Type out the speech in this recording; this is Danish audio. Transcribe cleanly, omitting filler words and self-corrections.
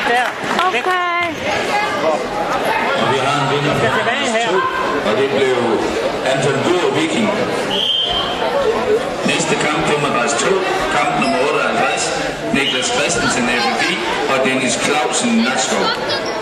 Der. Okay. Og vi har en vinder fra 2, og det blev Anton Bøger Viking. Næste kamp kommer Ras 2, kamp nummer 58, Niklas Christensen FFI og Dennis Clausen Nakskov.